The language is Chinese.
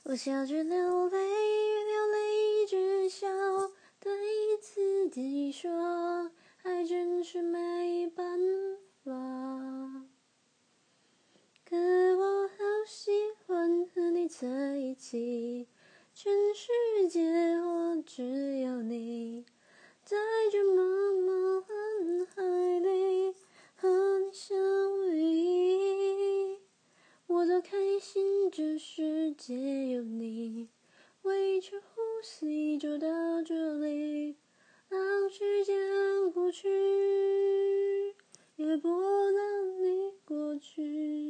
我笑着流泪，流泪只笑，对自己说，爱真是没办法。可我好喜欢和你在一起，全世界我只有你，在这茫茫人海里和你相依。我多开心，这世界有你，维持呼吸就到这里，让时间过去，也不能你过去。